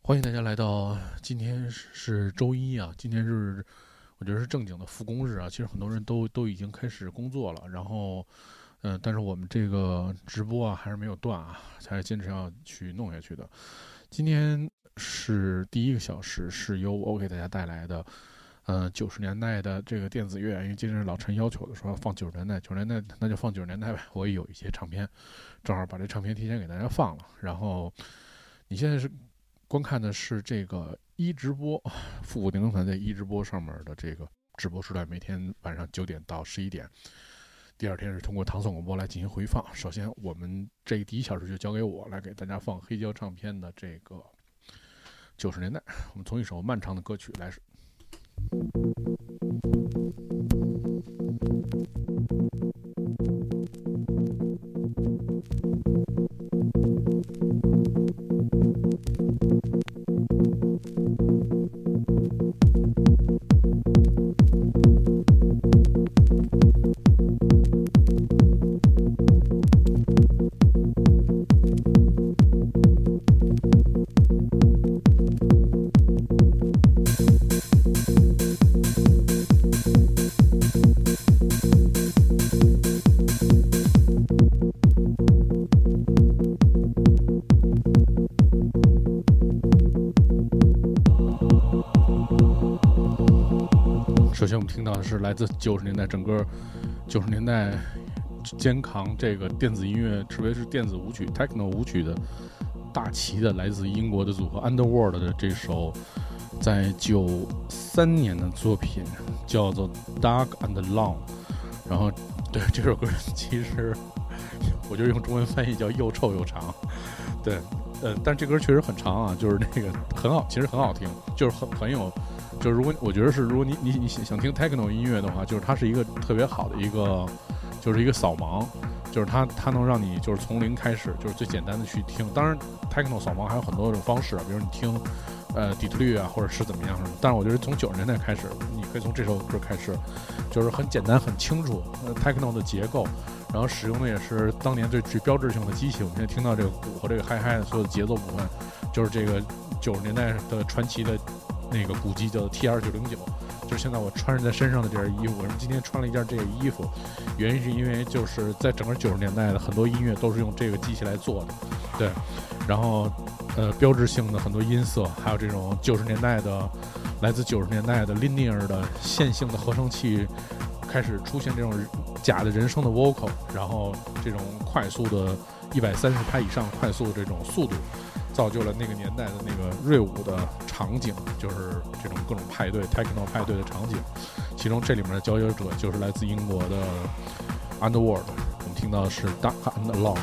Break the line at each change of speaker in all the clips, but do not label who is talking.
欢迎大家来到今天是周一啊，今天是我觉得是正经的复工日啊。其实很多人都已经开始工作了，然后但是我们这个直播啊还是没有断啊，还坚持要去弄下去的。今天是第一个小时，是由我给大家带来的90年代的这个电子乐，因为今天是老陈要求的，说要放90年代，90年代那就放90年代呗。我也有一些唱片，正好把这唱片提前给大家放了。然后你现在是观看的是这个一直播，复古电工团在一直播上面的这个直播时段，每天晚上9点到11点。第二天是通过唐宋广播来进行回放。首先，我们这第一小时就交给我来给大家放黑胶唱片的这个90年代。我们从一首漫长的歌曲来。首先我们听到的是来自90年代，整个90年代肩扛这个电子音乐，特别是电子舞曲 techno 舞曲的大旗的来自英国的组合 Underworld 的这首在93年的作品叫做 Dark and Long。 然后对这首歌其实我就用中文翻译叫又臭又长。对但这歌确实很长啊，就是那个很好，其实很好听，就是很有，就是如果我觉得是如果你想听 techno 音乐的话，就是它是一个特别好的一个，就是一个扫盲，就是它能让你就是从零开始，就是最简单的去听。当然 techno 扫盲还有很多种方式啊，比如你听底特律啊，或者是怎么样什么。但是我觉得从90年代开始，你可以从这首歌开始，就是很简单很清楚techno 的结构，然后使用的也是当年最标志性的机器。我们现在听到这个鼓和这个嗨嗨的所有的节奏部分，就是这个90年代的传奇的那个鼓机叫 TR909， 就是现在我穿着在身上的这件衣服。我今天穿了一件这个衣服，原因是因为就是在整个90年代的很多音乐都是用这个机器来做的，对。然后标志性的很多音色，还有这种90年代的来自90年代的 linear 的线性的合成器开始出现这种假的人声的 vocal， 然后这种快速的130拍以上快速的这种速度，造就了那个年代的那个锐舞的场景，就是这种各种派对 techno 派对的场景。其中这里面的佼佼者就是来自英国的 Underworld， 我们听到的是 Dark and Long。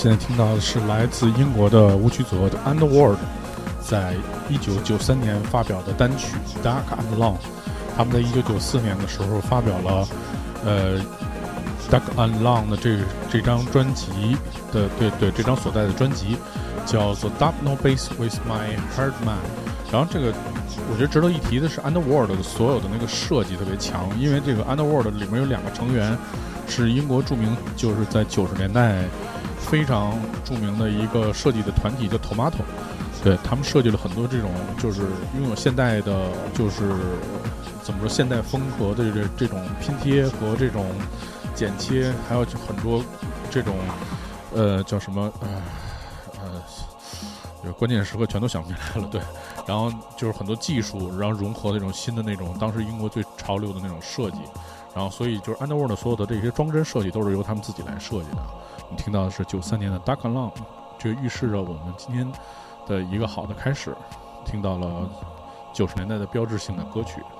现在听到的是来自英国的舞曲组合的 Underworld 在1993年发表的单曲 Dark and Long。 他们在1994年的时候发表了Dark and Long 的这张专辑的这张所在的专辑叫做 Dub No Bass With My Hard Man。 然后这个我觉得值得一提的是 Underworld 的所有的那个设计特别强，因为这个 Underworld 里面有2个成员是英国著名，就是在90年代非常著名的一个设计的团体叫 Tomato。 对，他们设计了很多这种就是拥有现代的就是怎么说现代风格的这种拼贴和这种剪切，还有很多这种叫什么有关键时刻全都想不起来了。对，然后就是很多技术，然后融合那种新的那种当时英国最潮流的那种设计，然后所以就是 Underworld 所有的这些装帧设计都是由他们自己来设计的。你听到的是93年的 Dark and Long， 这个预示着我们今天的一个好的开始，听到了90年代的标志性的歌曲。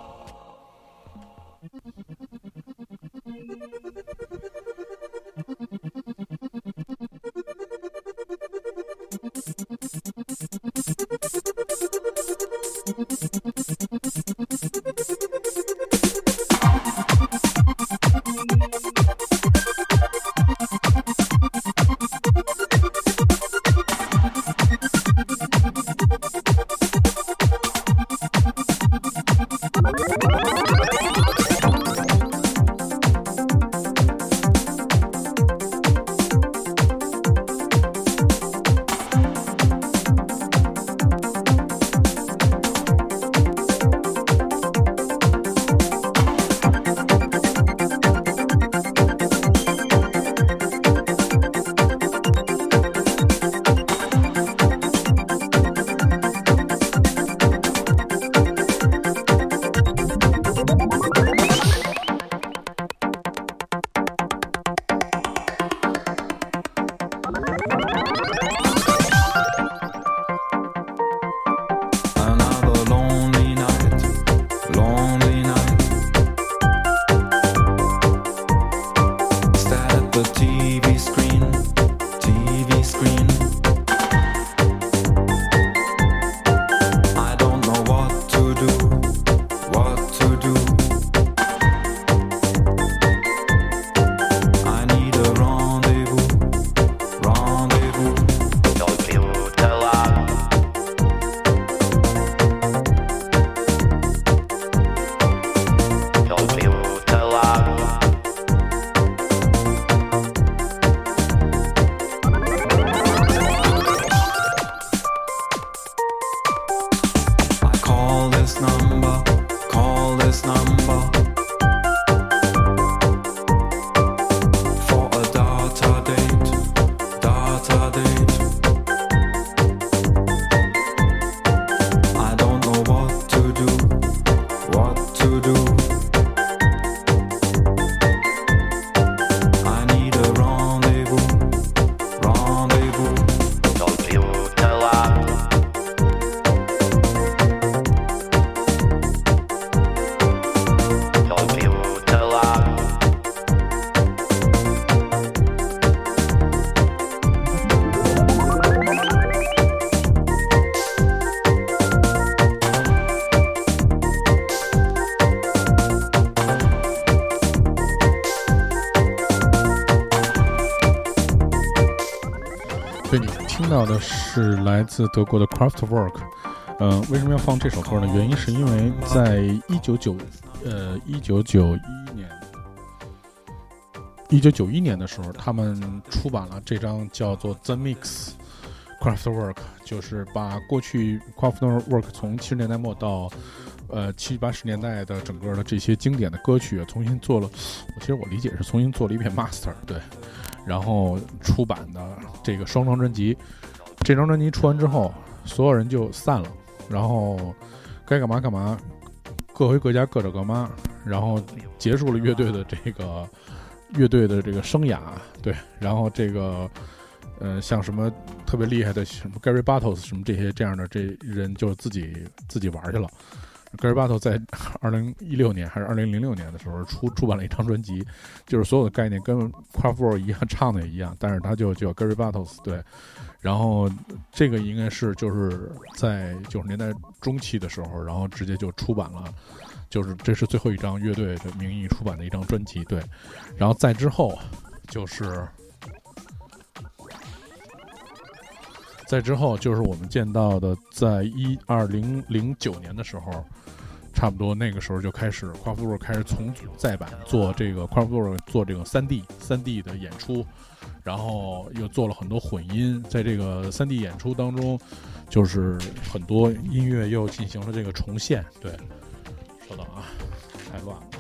对，你听到的是来自德国的 Kraftwerk。为什么要放这首歌呢？原因是因为在1991年的时候，他们出版了这张叫做 The Mix Kraftwerk， 就是把过去 Kraftwerk 从70年代末到70、80年代的整个的这些经典的歌曲重新做了，其实我理解是重新做了一遍 master， 对，然后出版的这个双张专辑。这张专辑出完之后，所有人就散了，然后该干嘛干嘛，各回各家各找各妈，然后结束了乐队的这个生涯，对，然后这个像什么特别厉害的什么 Gary Bartos 什么这样的这人就自己玩去了， Gary Barlow 在2016年还是2006年的时候出版了一张专辑，就是所有的概念跟 Kraftwerk 一样，唱的也一样，但是他就叫 Gary Barlow， 对。然后这个应该是就是在90年代中期的时候，然后直接就出版了，就是这是最后一张乐队的名义出版的一张专辑，对。然后再之后就是我们见到的，在2009年的时候，差不多那个时候就开始Kraftwerk开始重组再版，做这个Kraftwerk做这个3D 的演出，然后又做了很多混音，在这个3D 演出当中，就是很多音乐又进行了这个重现。对，稍等啊，太乱了。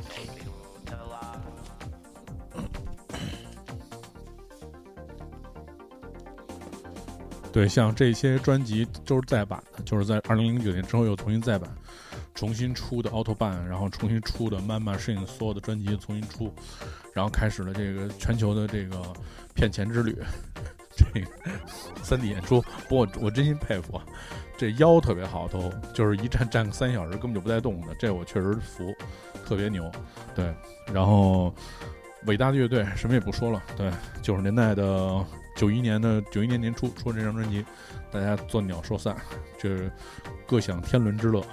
对，像这些专辑都是再版的，就是在2009年之后又重新再版，重新出的 Autobahn， 然后重新出的 Man Machine， 所有的专辑重新出，然后开始了这个全球的这个骗钱之旅。这个3D 演出，不过我真心佩服，这腰特别好，都就是一站个3小时根本就不带动的，这我确实服，特别牛。对，然后伟大的乐队什么也不说了，对，90年代的91年年初出这张专辑，大家作鸟兽散，这各享天伦之乐。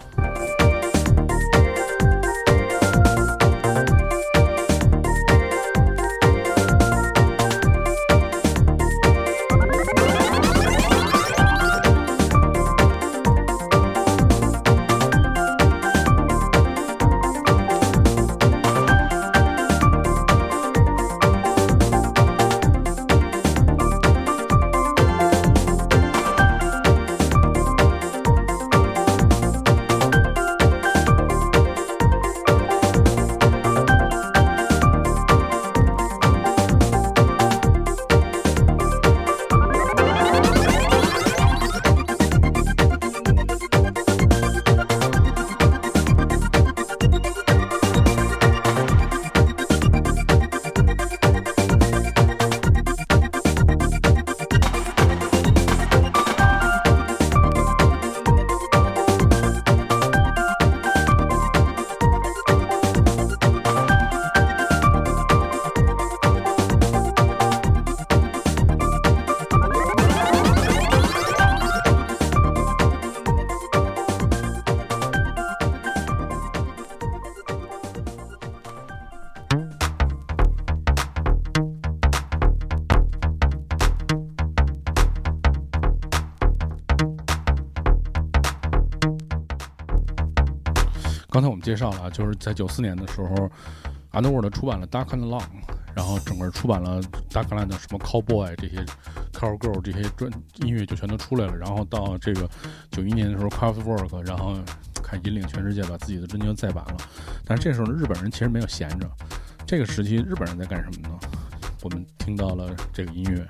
刚才我们介绍了，就是在94年的时候 Underworld 出版了 Dark and Long， 然后整个出版了 Dark and Long 的什么 Cowboy 这些 Cowgirl 这些音乐就全都出来了。然后到这个91年的时候 Kraftwerk， 然后看引领全世界把自己的专辑再版了。但是这时候日本人其实没有闲着，这个时期日本人在干什么呢？我们听到了这个音乐。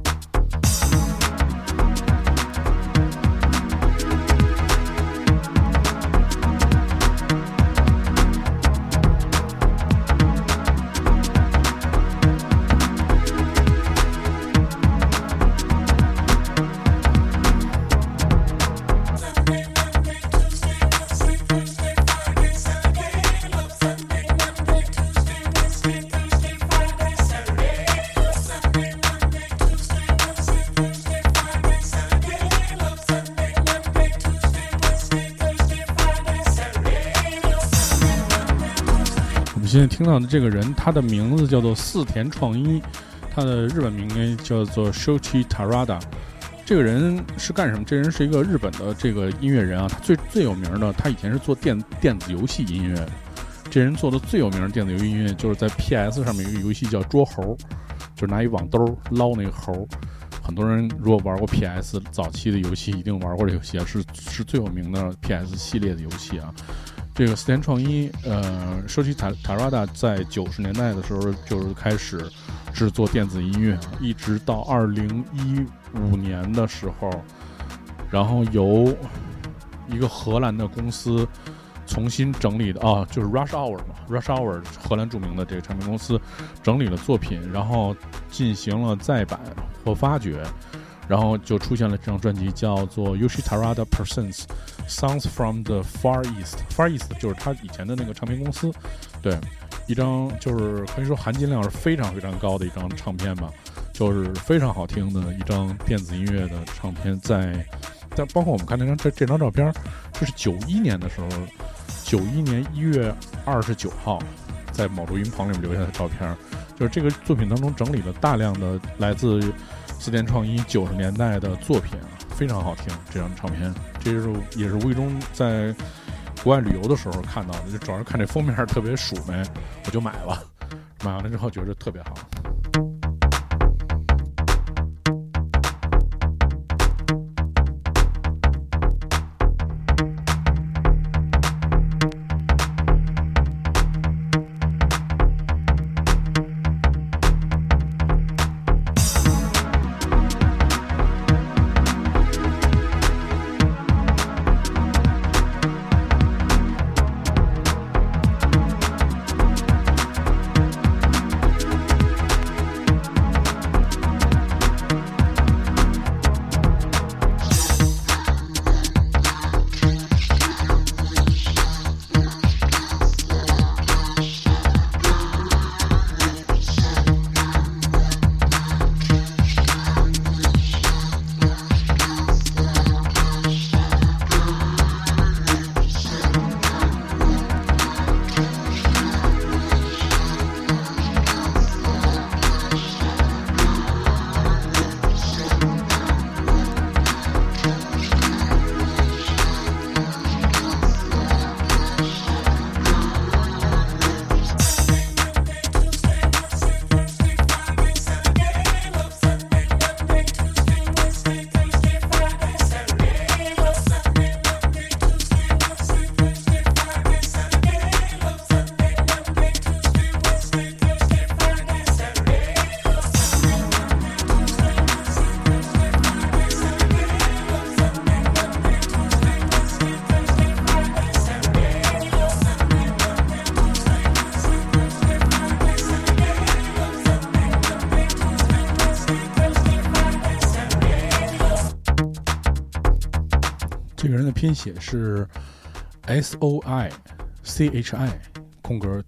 现在听到的这个人，他的名字叫做四田创一，他的日本名叫做 Shoichi Terada。这个人是干什么？这人是一个日本的这个音乐人啊，他最有名的，他以前是做电子游戏音乐的。这人做的最有名的电子游戏音乐，就是在 PS 上面有一个游戏叫捉猴，就是拿一网兜捞那个猴。很多人如果玩过 PS 早期的游戏，一定玩过这个游戏啊，是最有名的 PS 系列的游戏啊。这个四田创一Shoichi Terada 在90年代的时候就是开始制作电子音乐，一直到2015年的时候，然后由一个荷兰的公司重新整理的就是 Rush Hour 荷兰著名的这个唱片公司整理了作品，然后进行了再版或发掘， 然后就出现了这张专辑，叫做 Yoshitarada Presents Songs from the Far East。Far East 就是他以前的那个唱片公司，对，一张就是可以说含金量是非常非常高的一张唱片吧，就是非常好听的一张电子音乐的唱片。在包括我们看这张照片，这是91年的时候，91年1月29号，在某录音棚里面留下的照片。就是这个作品当中整理了大量的来自四电创一90年代的作品，非常好听。这张唱片，这也是无意中在国外旅游的时候看到的，就主要是看这封面特别鼠眉，我就买了。买完了之后觉得特别好。这个人的拼写是 SOICHI空格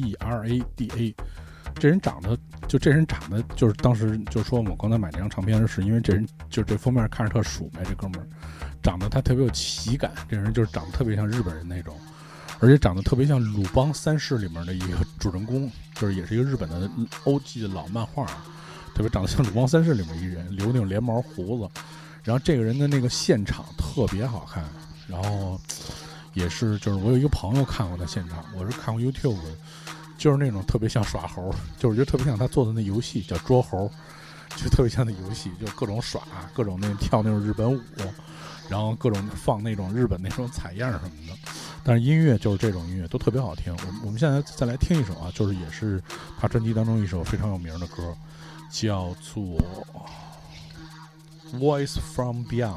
TERADA。这人长得就是当时就说我刚才买这张唱片是因为这人就这封面看着特鼠眉，这哥们儿长得他特别有喜感，这人就是长得特别像日本人那种，而且长得特别像鲁邦三世里面的一个主人公，就是也是一个日本的欧记的老漫画，特别长得像鲁邦三世里面一人，留那种连毛胡子。然后这个人的那个现场特别好看，然后也是就是我有一个朋友看过他现场，我是看过 YouTube， 就是那种特别像耍猴，就是觉得特别像他做的那游戏叫捉猴，就特别像那游戏，就各种耍，各种那跳那种日本舞，然后各种放那种日本那种采样什么的。但是音乐就是这种音乐都特别好听。我们现在再来听一首啊，就是也是他专辑当中一首非常有名的歌，叫做Voice from Beyond。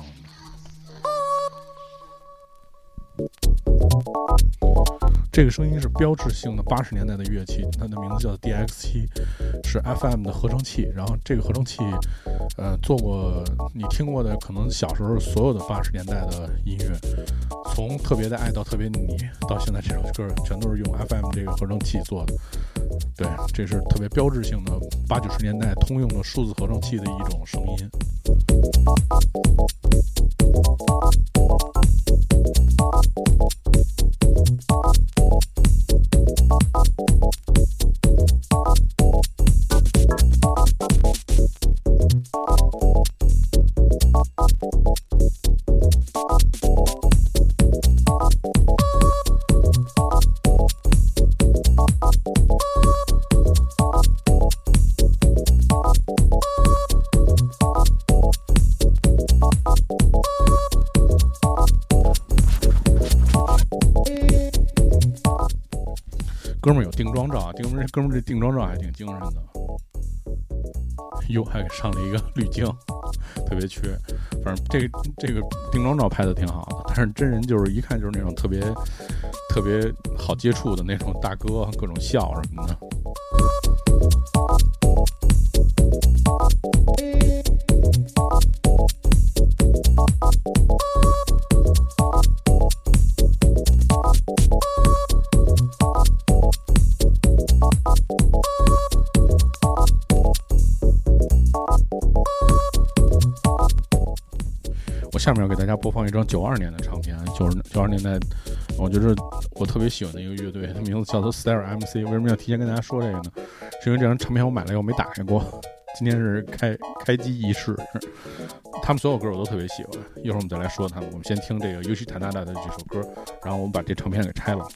这个声音是标志性的80年代的乐器，它的名字叫 DX7， 是 FM 的合成器。然后这个合成器做过你听过的可能小时候所有的80年代的音乐，从特别的爱到特别你到现在这首歌全都是用 FM 这个合成器做的。对，这是特别标志性的80、90年代通用的数字合成器的一种声音。哥们儿有定妆照啊，哥们儿这定妆照还挺精神的，哟，还给上了一个滤镜，特别缺。反正这个定妆照拍的挺好的，但是真人就是一看就是那种特别好接触的那种大哥，各种笑什么的。 下面要给大家播放一张92年的唱片，92年代，我觉得我特别喜欢的一个乐队，它名字叫做 Style MC。为什么要提前跟大家说这个呢？是因为这张唱片我买了以后没打开过，今天是开机仪式。他们所有歌我都特别喜欢，一会儿我们再来说他们。我们先听这个Yoshi Tanada的这首歌，然后我们把这唱片给拆了。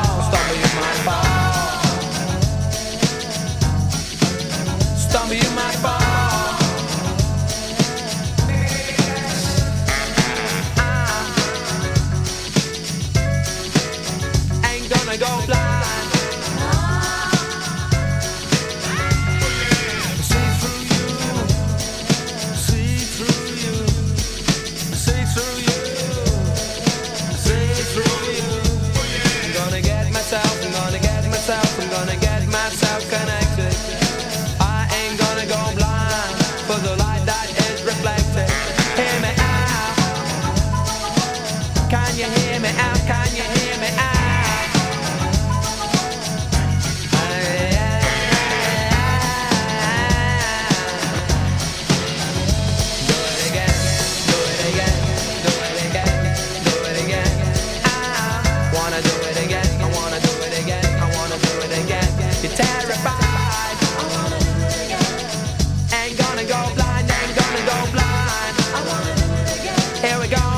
Stumble, you might terrified. Ain't gonna go blind, ain't gonna go blind. Here we go.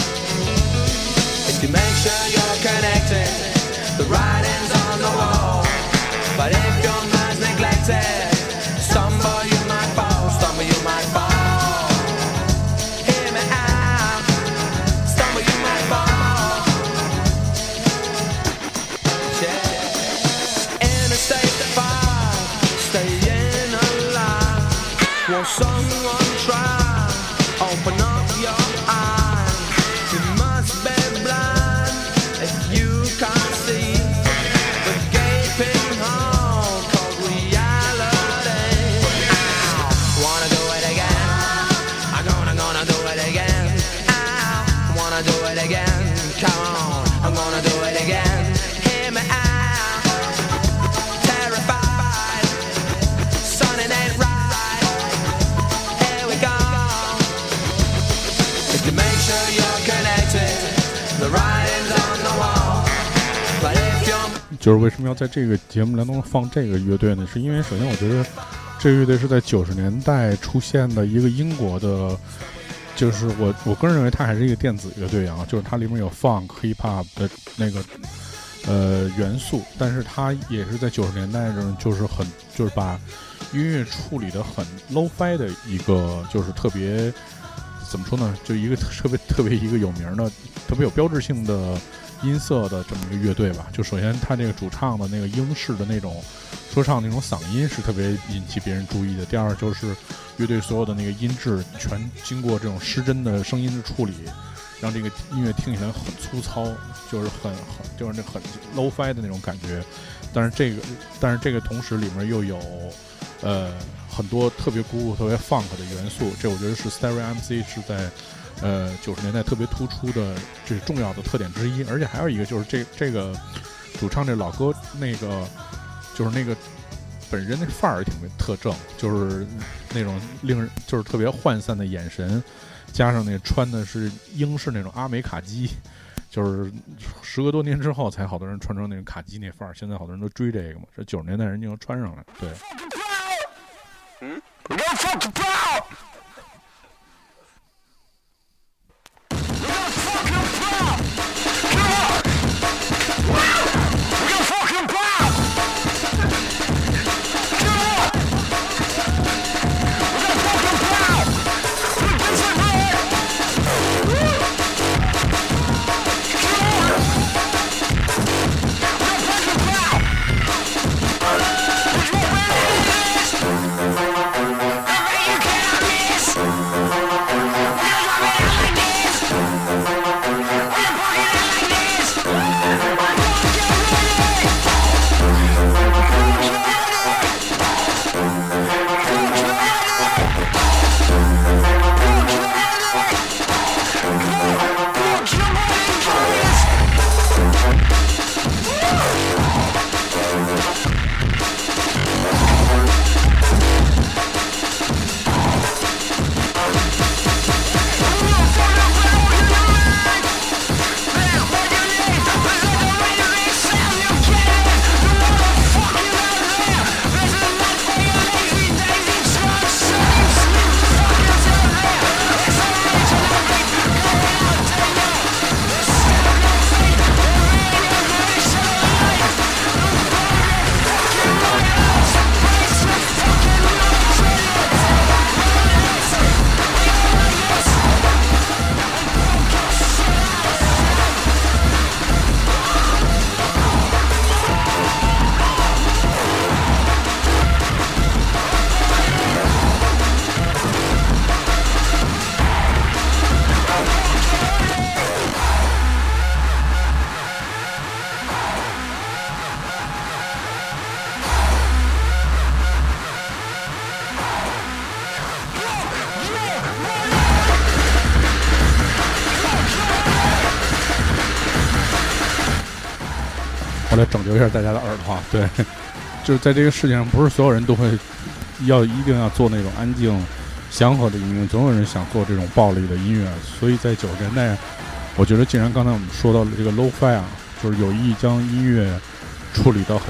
If you make sure you're connected, the writing's on the wall. But if your mind's neglected, stumble you might fall, stumble you might fall. Hear me out, stumble you might fall. Yeah. In a state of fire, staying alive. Won't someone try? Open up your eyes. You must be blind if you can't see the gaping hole called reality. Wanna do it again? I'm gonna do it again. I wanna do it again. Come on, I'm gonna do it again. Hear me out. Terrified, son, it ain't right. Here we go. If you make sure you're connected, the writing's on the wall. But if you're
就是为什么要在这个节目当中放这个乐队呢？是因为首先我觉得这个乐队是在90年代出现的一个英国的，就是我个人认为它还是一个电子乐队啊，就是它里面有 funk hip hop 的那个元素，但是它也是在90年代中就是把音乐处理的很 low-fi 的一个，就是特别怎么说呢，就一个特别一个有名的特别有标志性的音色的这么一个乐队吧。就首先他这个主唱的那个英式的那种说唱那种嗓音是特别引起别人注意的。第二就是乐队所有的那个音质全经过这种失真的声音的处理，让这个音乐听起来很粗糙，就是就是那很 low-fi 的那种感觉。但是这个同时里面又有很多特别鼓舞特别 funk 的元素，这我觉得是 Stereo MC 是在90年代特别突出的这是重要的特点之一。而且还有一个就是这个主唱这老哥那个就是那个本人那范儿挺特正，就是那种令人就是特别涣散的眼神，加上那穿的是英式那种阿美卡基，就是时隔多年之后才好多人穿成那种卡基那范儿，现在好多人都追这个嘛，这90年代人就能穿上来。对。我来拯救一下大家的耳朵。对，就是在这个世界上，不是所有人都会一定要做那种安静、祥和的音乐，总有人想做这种暴力的音乐。所以在90年代，我觉得既然刚才我们说到了这个 low-fi 啊，就是有意将音乐处理到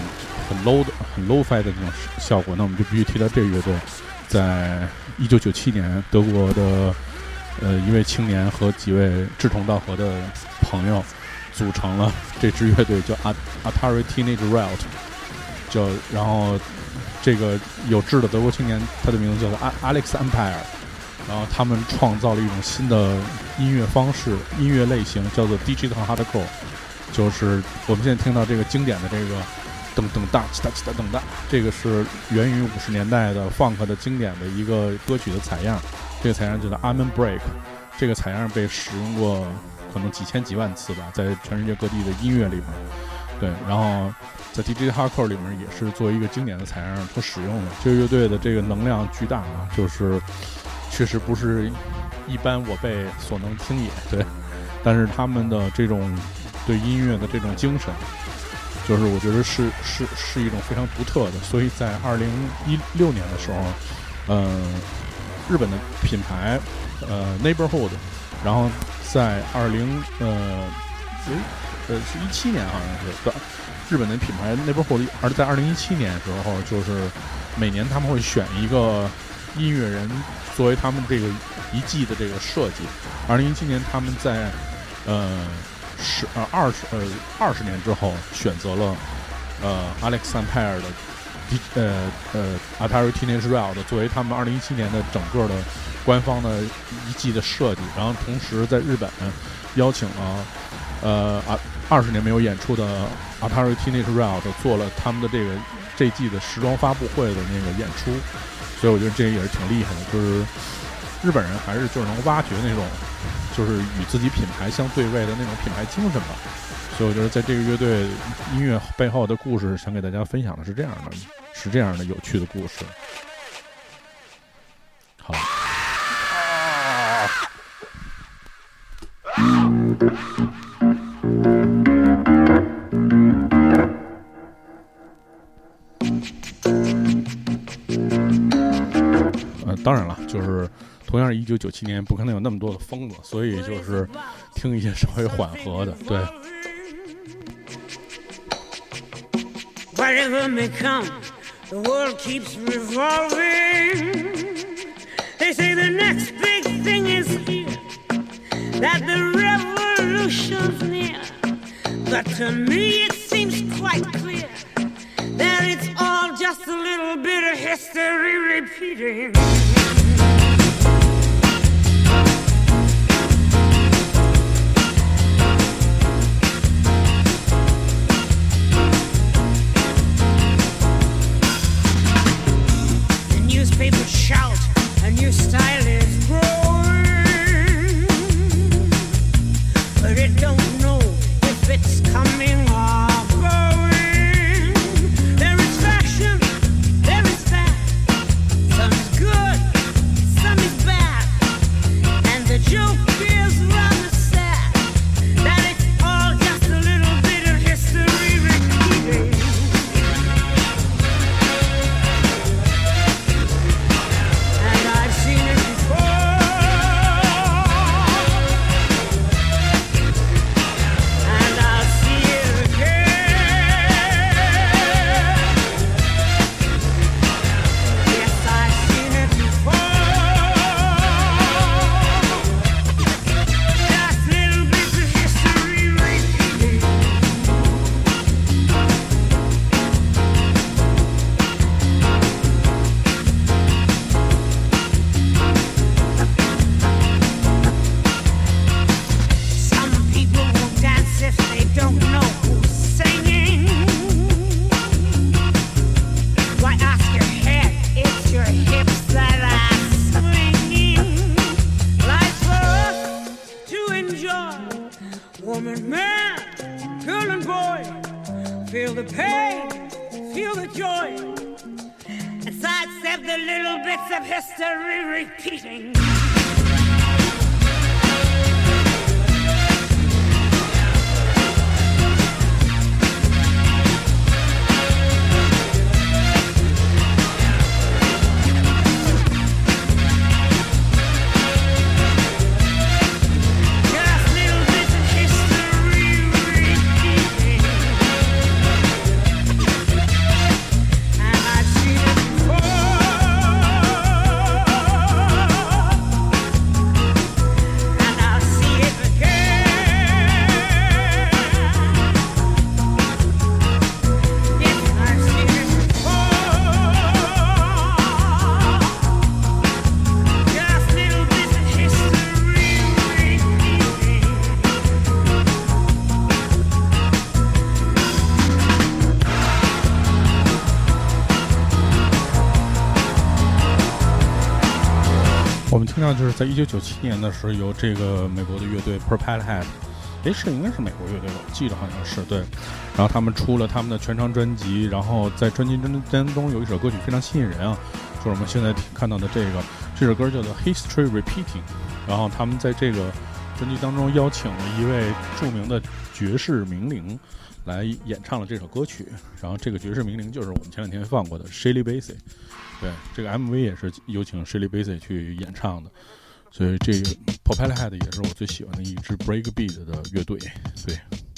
很 low-fi 的那种效果，那我们就必须提到这个乐队，在1997年德国的一位青年和几位志同道合的朋友组成了这支乐队，叫 Atari Teenage Riot， 然后这个有志的德国青年，他的名字叫做 Alex Empire， 然后他们创造了一种新的音乐方式、音乐类型，叫做 Digital Hardcore， 就是我们现在听到这个经典的这个噔噔哒哒哒噔哒，这个是源于50年代的 funk 的经典的一个歌曲的采样，这个采样叫做 Amen Break， 这个采样被使用过可能几千几万次吧，在全世界各地的音乐里面，对，然后在 Digital Hardcore 里面也是作为一个经典的采样所使用的。这个乐队的这个能量巨大啊，就是确实不是一般我辈所能听也，对，但是他们的这种对音乐的这种精神，就是我觉得是一种非常独特的。所以在2016年的时候，日本的品牌Neighborhood， 然后在是17年好像是日本的品牌 Neighborhood， 而在2017年的时候，就是每年他们会选一个音乐人作为他们这个一季的这个设计。2017年他们在20年之后选择了Alex Empire 的Atari Teenage Riot 作为他们2017年的整个的官方的一季的设计，然后同时在日本邀请了20年没有演出的 Atari Teenage Riot 做了他们的这季的时装发布会的那个演出，所以我觉得这也是挺厉害的，就是日本人还是就是能挖掘那种就是与自己品牌相对位的那种品牌精神吧。所以我觉得在这个乐队音乐背后的故事，想给大家分享的是这样的有趣的故事。好。当然了，就是同样是1997年，不可能有那么多的疯子，所以就是听一些稍微缓和的，对。
Whatever may come, the world keeps revolving. They say the next big thing is here, that the revolution's near. But to me it seems quite clear that it's all just a little bit of history repeating. People shout, a new style is growing, but it don't know if it's coming or going. There is fashion, there is fat, some is good, some is bad, and the joke is rather sad, that it's all just a little bit of history repeating. Woman, man, girl and boy, feel the pain, feel the joy, and sidestep the little bits of history repeating.
我们听到就是在1997年的时候，由这个美国的乐队 Propellerhead， 应该是美国乐队吧，我记得好像是对。然后他们出了他们的全长专辑，然后在专辑当中有一首歌曲非常吸引人啊，就是我们现在看到的这首歌叫做 History Repeating。然后他们在这个专辑当中邀请了一位著名的爵士名伶来演唱了这首歌曲，然后这个爵士名伶就是我们前两天放过的 Shirley Bassey。对，这个 MV 也是有请 Shirley Bassey 去演唱的，所以这个 Propellerhead 也是我最喜欢的一支 breakbeat 的乐队。对。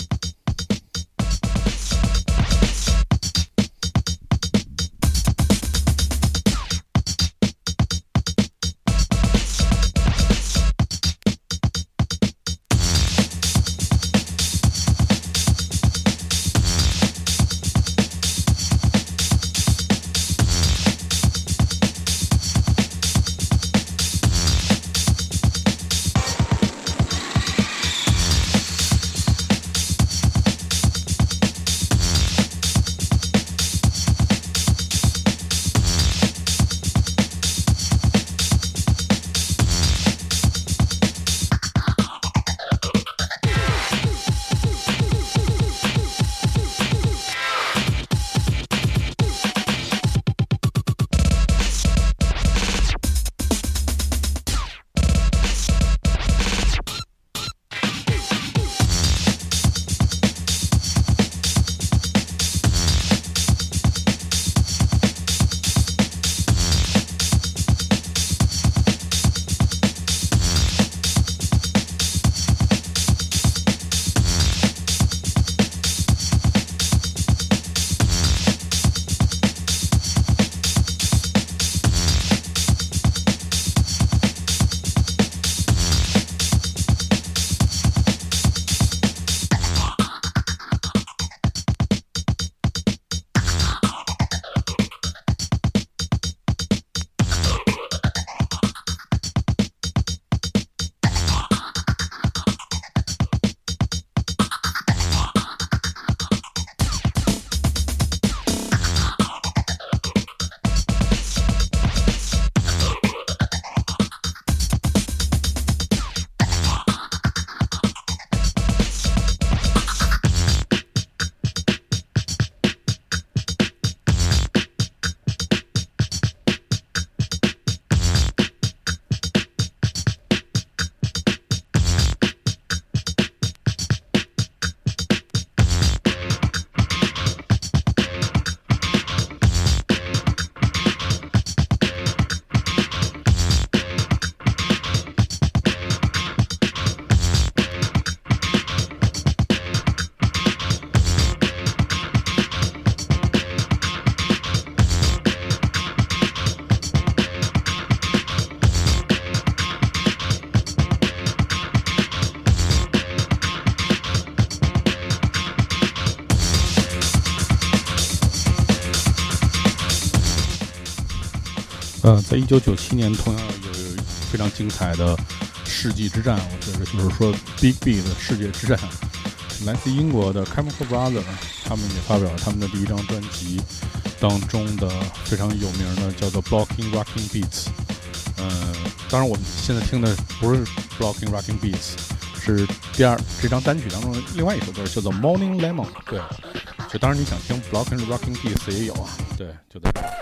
在1997年同样有非常精彩的世纪之战，我觉得就是说 Big B 的世界之战。来自英国的 Chemical Brothers， 他们也发表了他们的第一张专辑当中的非常有名的叫做 Blocking Rocking Beats。当然我们现在听的不是 Blocking Rocking Beats， 是这张单曲当中的另外一首歌叫做 Morning Lemon。 对，就当然你想听 Blocking Rocking Beats 也有啊，对，就在这儿。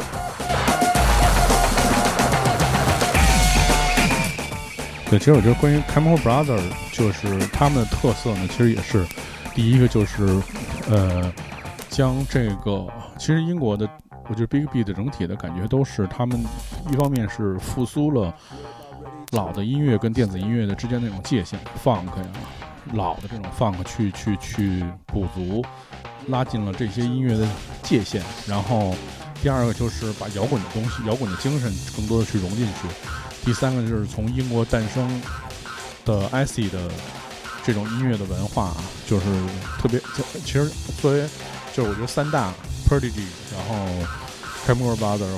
对，其实我觉得关于 Chemical Brothers 就是他们的特色呢，其实也是第一个就是将这个其实英国的我觉得 Big B 的整体的感觉都是他们一方面是复苏了老的音乐跟电子音乐的之间那种界限 funk 呀，老的这种 funk 去补足拉近了这些音乐的界限，然后第二个就是把摇滚的东西摇滚的精神更多的去融进去，第三个就是从英国诞生的 acid 的这种音乐的文化啊，就是特别其实作为就是我觉得三大 Prodigy， 然后 Chemical Brothers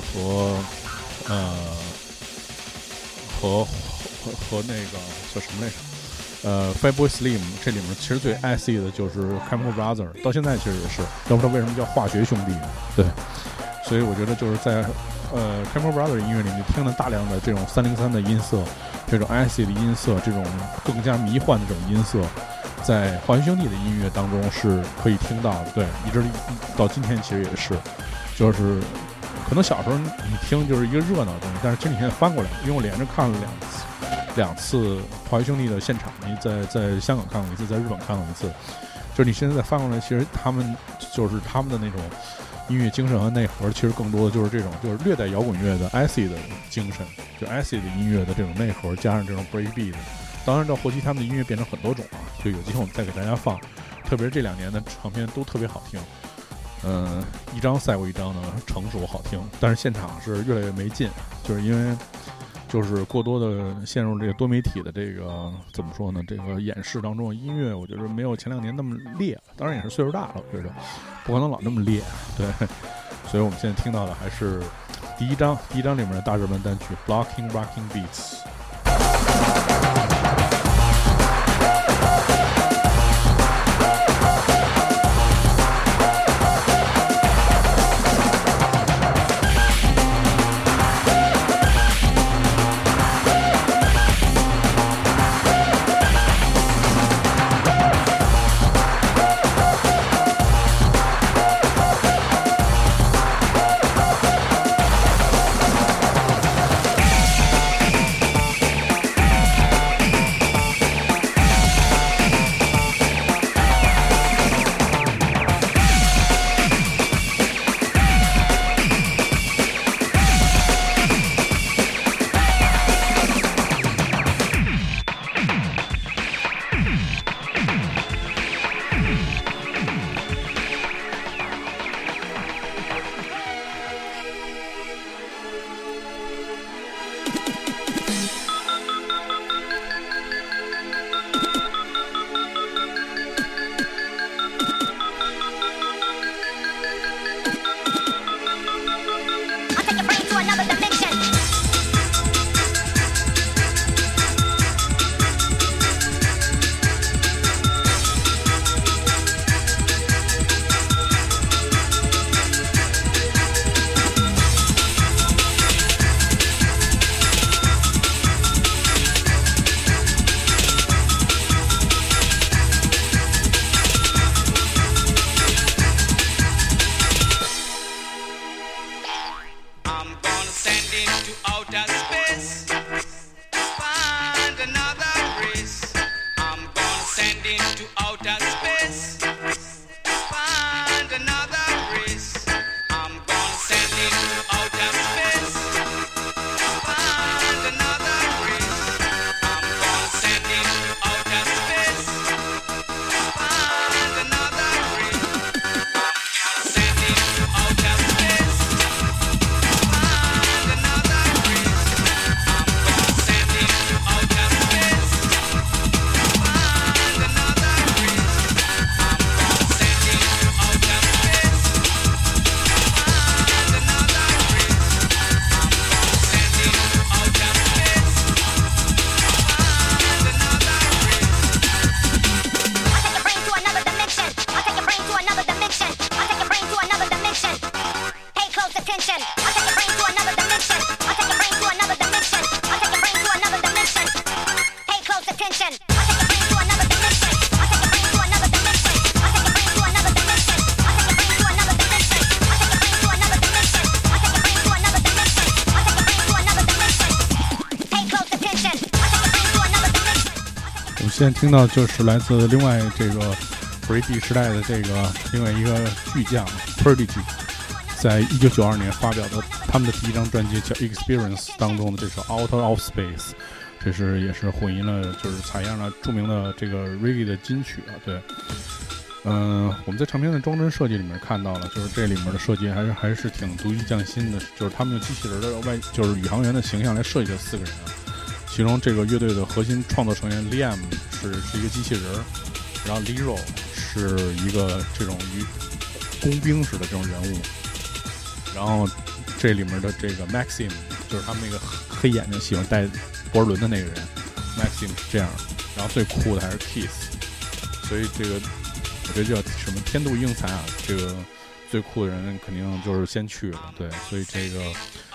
和那个叫什么来着Fatboy Slim， 这里面其实最 acid 的就是 Chemical Brothers， 到现在其实也是，要不知道为什么叫化学兄弟，对，所以我觉得就是在 Chemical Brothers 音乐里面听了大量的这种303的音色，这种 acid 的音色，这种更加迷幻的这种音色，在华谊兄弟的音乐当中是可以听到的。对，一直到今天其实也是，就是可能小时候你听就是一个热闹的东西，但是这几天翻过来，因为我连着看了两次华谊兄弟的现场，在香港看过一次，在日本看过一次。就是你现在再翻过来，其实他们的那种音乐精神和内核，其实更多的就是这种，就是略带摇滚乐的 acid 的精神，就 acid 的音乐的这种内核，加上这种 breakbeat 的。当然到后期他们的音乐变成很多种了，就有机会我们再给大家放。特别是这2年的唱片都特别好听，一张赛过一张的成熟好听，但是现场是越来越没劲，就是因为就是过多的陷入这个多媒体的这个怎么说呢？这个演示当中的音乐，我觉得没有前2年那么烈，当然也是岁数大了，我觉得不可能老那么烈，对。所以我们现在听到的还是第一张里面的大热门单曲《Blocking Rocking Beats》。现在听到就是来自另外这个 Breakbeat 时代的这个另外一个巨匠 Prodigy， 在1992年发表的他们的第一张专辑叫 Experience 当中的这首 Out of Space， 这是也是混音了，就是采样了著名的这个 Reggae 的金曲啊。对，我们在唱片的装帧设计里面看到了，就是这里面的设计还是挺独具匠心的，就是他们用机器人的就是宇航员的形象来设计这4个人啊。其中这个乐队的核心创作成员 Liam 是一个机器人，然后 Lero 是一个这种工兵式的这种人物，然后这里面的这个 Maxim 就是他们那个黑眼睛喜欢戴博尔伦的那个人 Maxim 是这样，然后最酷的还是 Keith， 所以这个我觉得叫什么天妒英才啊，这个最酷的人肯定就是先去了，对，所以这个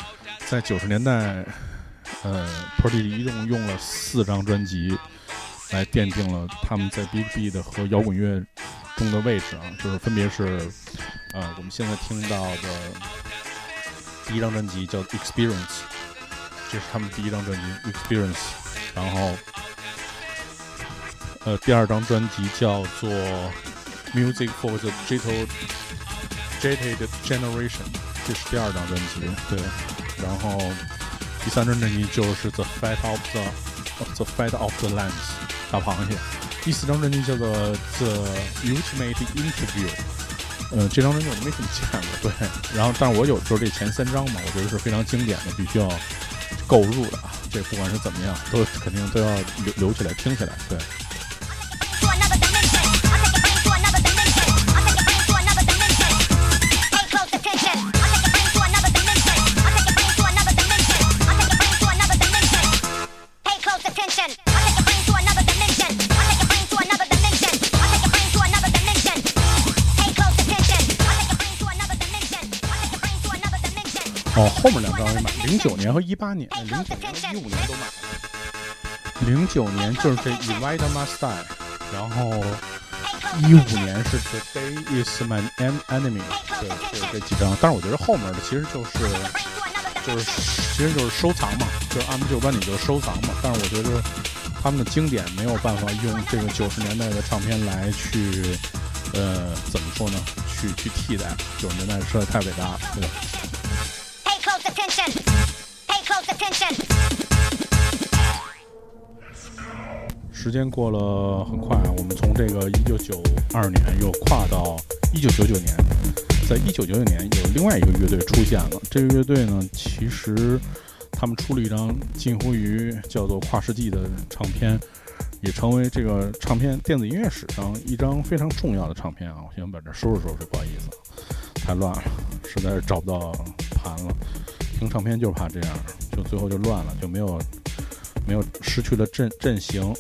在90年代，Prodigy 一共用了4张专辑来奠定了他们在 Big Beat 和摇滚乐中的位置啊，就是分别是我们现在听到的第一张专辑叫 Experience， 这是他们第一張专辑 Experience， 然后第二张专辑叫做 Music for the Jaded Generation， 这是第二张专辑，对，然后第三张专辑就是 The Fate of the Lambs 大螃蟹，第四张专辑叫做 The Ultimate Interview， 这张专辑我都没怎么见过，对，然后但是我有时候这前3张嘛，我觉得是非常经典的，必须要购入的啊，这不管是怎么样，肯定都要留起来听起来，对。后面2张也买，09年和18年，09年和15年都买了。09年就是这 Invite My Style， 然后15年是 The Day Is My Enemy， 对，就是这几张。但是我觉得后面的其实就是收藏嘛，就是按部就班，你就收藏嘛。但是我觉得他们的经典没有办法用这个90年代的唱片来去，怎么说呢？去替代90年代实在太伟大了，对吧？时间过了很快，我们从这个1992年又跨到1999年。在1999年有另外一个乐队出现了，这个乐队呢，其实他们出了一张近乎于叫做跨世纪的唱片，也成为这个唱片电子音乐史上一张非常重要的唱片啊！我先把这收拾收拾，不好意思，太乱了，实在是找不到盘了。听唱片就怕这样，就最后就乱了，就没有失去了阵型。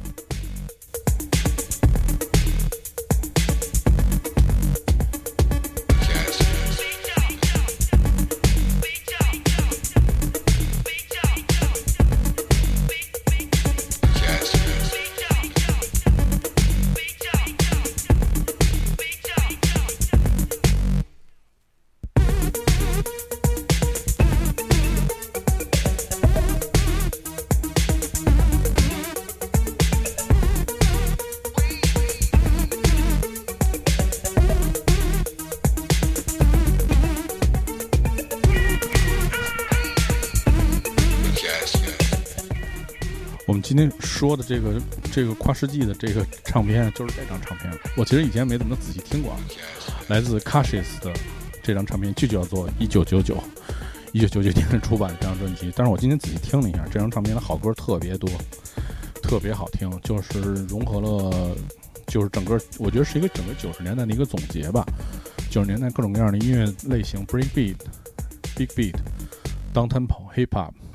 我们今天说的这个跨世纪的这个唱片，就是这张唱片。我其实以前没怎么仔细听过，来自 Kashis 的这张唱片就叫做1999 年出版的这张专辑。但是我今天仔细听了一下，这张唱片的好歌特别多，特别好听，就是融合了，就是整个我觉得是一个整个90年代的一个总结吧。90年代各种各样的音乐类型 ，Break Beat、Big Beat、Down Tempo、Hip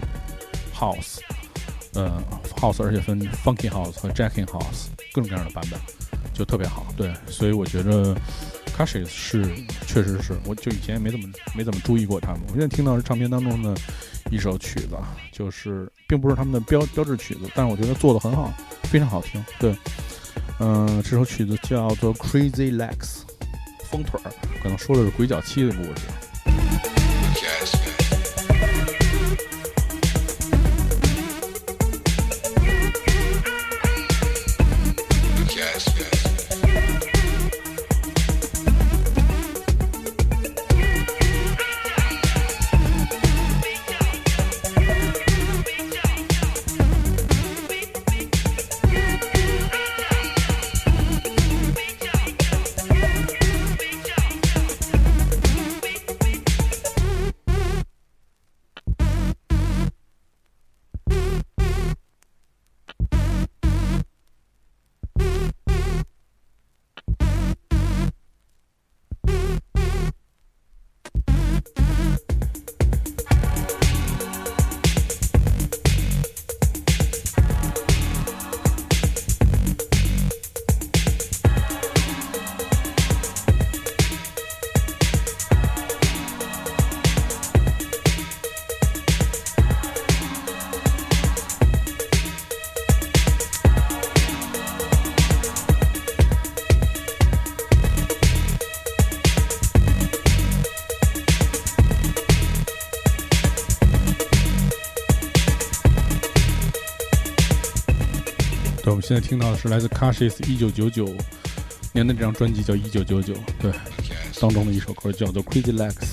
Hop、House。House 而且分 Funky House 和 Jacking House 各种各样的版本，就特别好。对，所以我觉得 Kashis 确实是，我就以前也没怎么注意过他们。我现在听到是唱片当中的一首曲子，就是并不是他们的标志曲子，但是我觉得做得很好，非常好听。对，这首曲子叫做 Crazy Legs 疯腿儿，可能说的是鬼脚七的故事。 对，我们现在听到的是来自 Kashis 1999年的这张专辑叫1999，对，当中的一首歌叫做 Crazy Legs。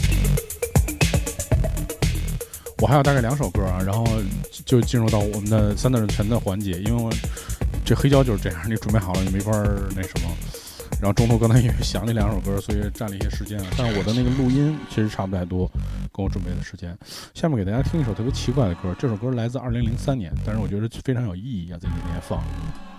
我还有大概2首歌啊，然后就进入到我们的三段全的环节，因为我这黑胶就是这样，你准备好了你没法那什么。然后中途刚才因为想那2首歌，所以占了一些时间，但是我的那个录音其实差不太多跟我准备的时间。下面给大家听一首特别奇怪的歌，这首歌来自2003年，但是我觉得非常有意义啊，在那年放。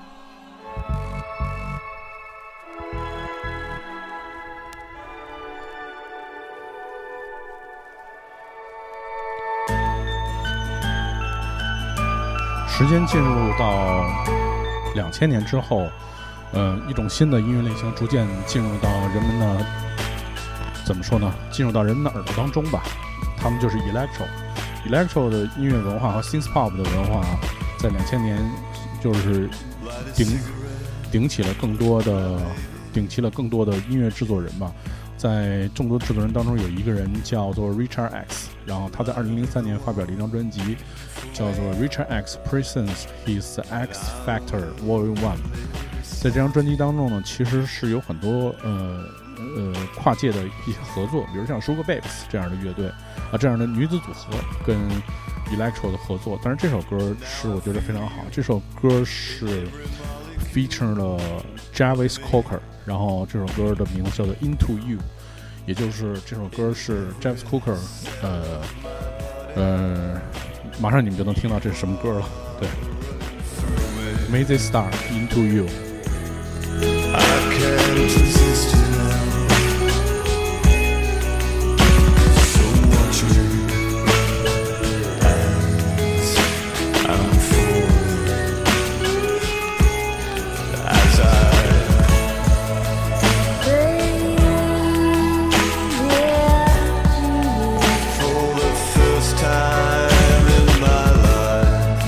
时间进入到2000年之后，一种新的音乐类型逐渐进入到人们的怎么说呢？进入到人们的耳朵当中吧。他们就是 electro 的音乐文化和 synth pop 的文化，在2000年就是顶起了更多的音乐制作人吧。在众多制作人当中，有一个人叫做 Richard X， 然后他在2003年发表了一张专辑，叫做 Richard X Presents His X Factor Volume 1。在这张专辑当中呢，其实是有很多跨界的一些合作，比如像 Sugar Babes 这样的乐队啊，这样的女子组合跟 Electro 的合作。但是这首歌是我觉得非常好，这首歌是 feature 了 Jarvis Cocker， 然后这首歌的名字叫做 Into You， 也就是这首歌是 Jarvis Cocker， 马上你们就能听到这是什么歌了。对 ，Amazing Star Into You。I can't resist you now. So watch me as I'm falling, as for the first time in my life.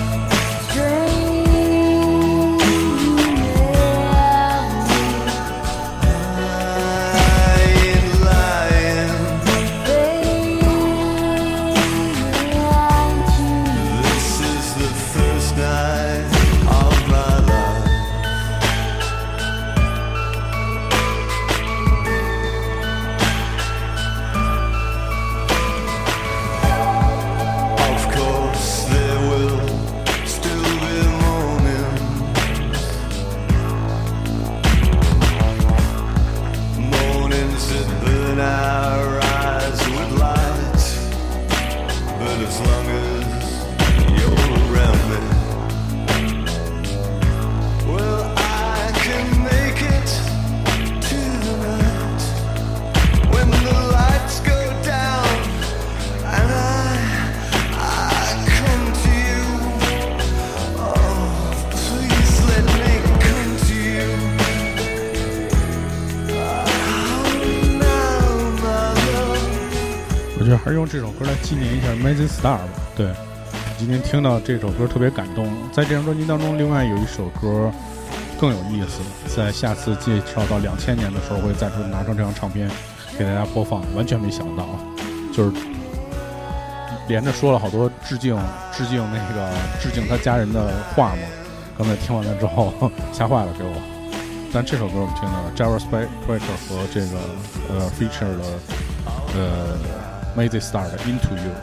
我觉得还是用这首歌来纪念一下 Amazing Star 吧。对，今天听到这首歌特别感动。在这张专辑当中，另外有一首歌更有意思，在下次介绍到2000年的时候，会再次拿上这张唱片给大家播放。完全没想到，就是连着说了好多致敬他家人的话嘛。刚才听完了之后吓坏了给我。但这首歌我们听到了 Jarvis Cocker 和这个feature 的Amazing Star 的 Into You。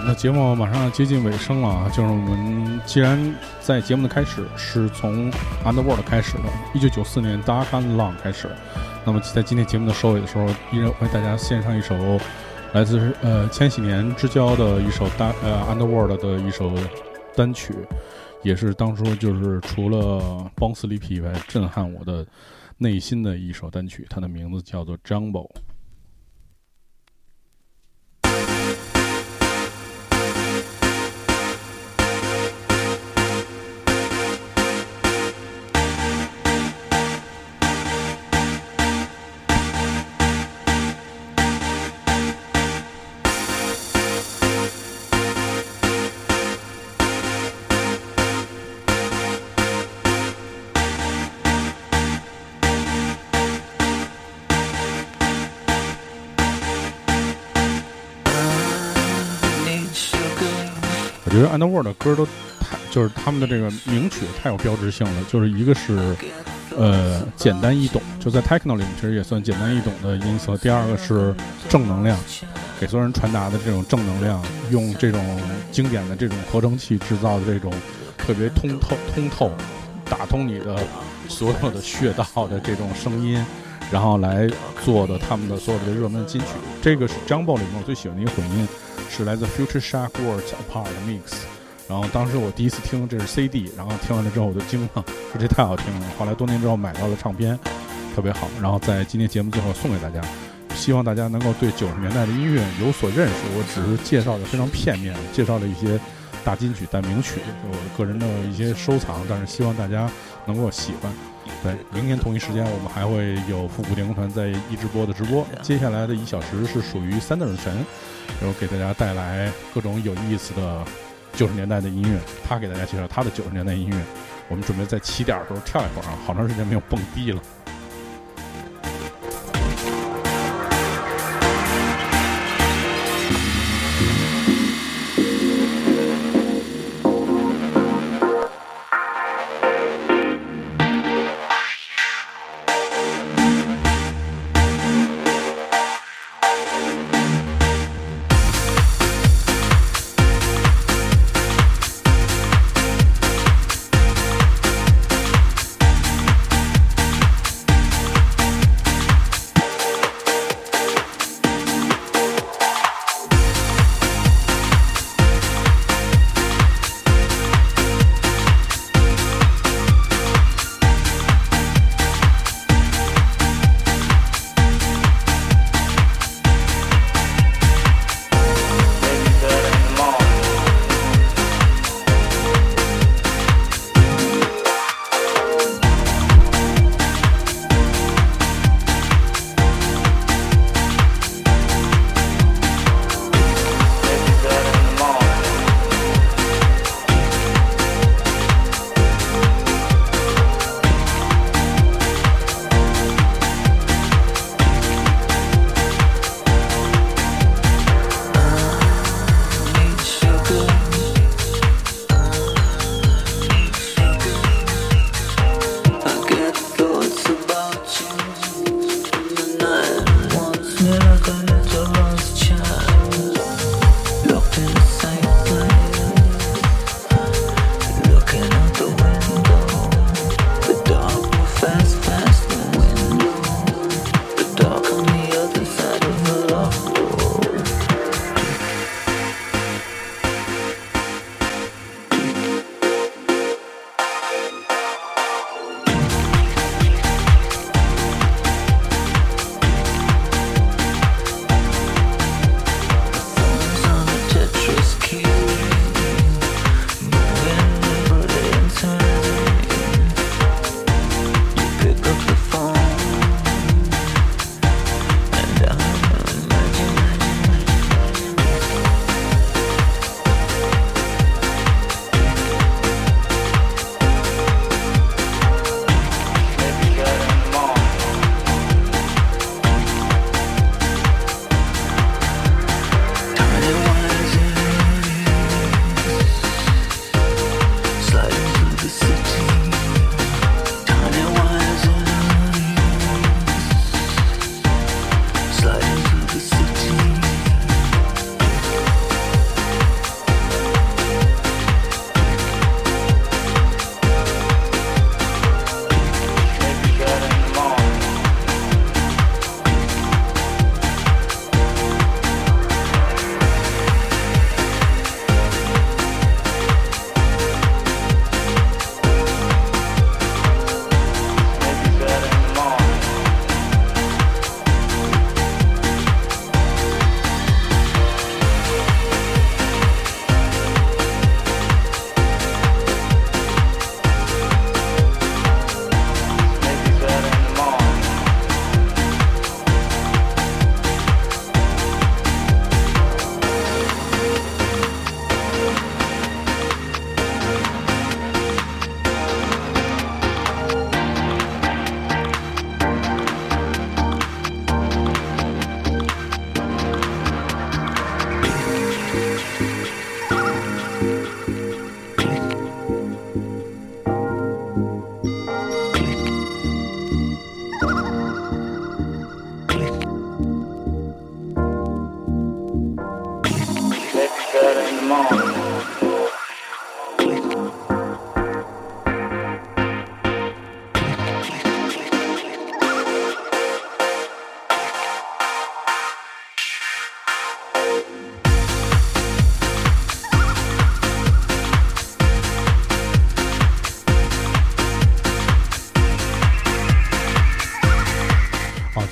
那节目马上接近尾声了啊，就是我们既然在节目的开始是从 Underworld 开始的，1994年 Dark and Long 开始，那么在今天节目的收尾的时候，依然为大家献上一首来自千禧年之交的一首Underworld 的一首单曲，也是当初就是除了邦斯里皮以外震撼我的内心的一首单曲，它的名字叫做 Jumbo。我觉得 Underworld 的歌都就是他们的这个名曲太有标志性了，就是一个是简单易懂，就在 Techno 里面其实也算简单易懂的音色，第二个是正能量，给所有人传达的这种正能量，用这种经典的这种合成器制造的这种特别通透打通你的所有的穴道的这种声音，然后来做的他们的所有的热门金曲。这个是 Jumbo 里面我最喜欢的一个混音，是来自 Future Shock Worlds Apart Mix。然后当时我第一次听这是 CD， 然后听完了之后我就惊了，说这太好听了。后来多年之后买到了唱片，特别好。然后在今天节目最后送给大家，希望大家能够对90年代的音乐有所认识。我只是介绍的非常片面，介绍了一些大金曲、大名曲，我个人的一些收藏，但是希望大家能够喜欢。对，明天同一时间我们还会有复古电工团在一直播的直播。接下来的1小时是属于三等神，然后给大家带来各种有意思的90年代的音乐，他给大家介绍他的90年代音乐。我们准备在起点的时候跳一会儿啊，好长时间没有蹦迪了。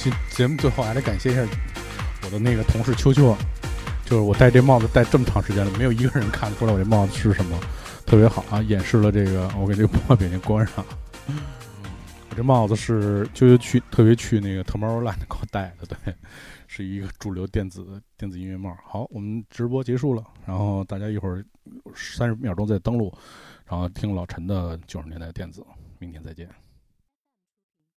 节目最后还得感谢一下我的那个同事秋秋，就是我戴这帽子戴这么长时间了，没有一个人看得出来我这帽子是什么，特别好啊，掩饰了这个我给这个破表情关上。我这帽子是就特别去那个 Tomorrowland 给我戴的，对，是一个主流电子音乐帽。好，我们直播结束了，然后大家一会儿30秒钟再登录，然后听老陈的90年代电子，明天再见。